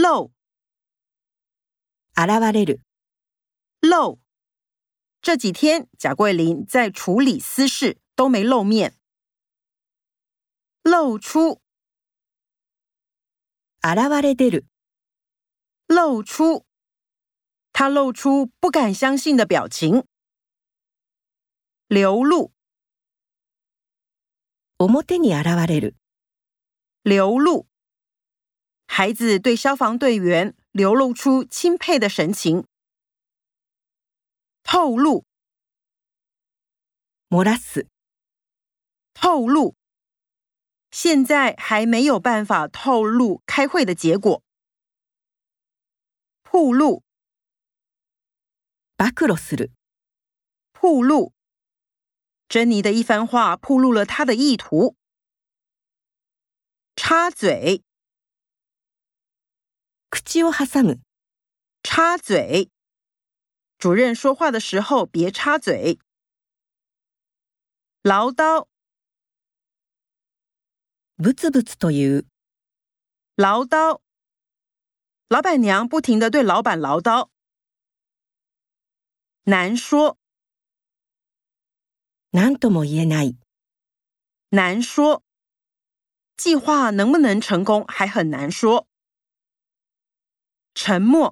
漏， 現れる。 漏。这几天贾桂林在处理私事，都没露面。露出， 現れ出る。 露出。他露出不敢相信的表情。流露， 表に現れる。 流露。孩子对消防队员流露出钦佩的神情。透露， 漏らす。 透露。现在还没有办法透露开会的结果。暴露， 暴露する。 暴露。珍妮的一番话暴露了她的意图。插嘴， 口を挟む。 插嘴。主任说话的时候别插嘴。唠叨， ブツブツという。 唠叨。老板娘不停地对老板唠叨。难说， 何とも言えない。 难说。计划能不能成功还很难说。沉默，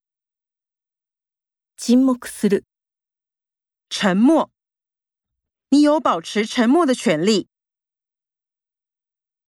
沈黙する。 沉默。你有保持沉默的权利。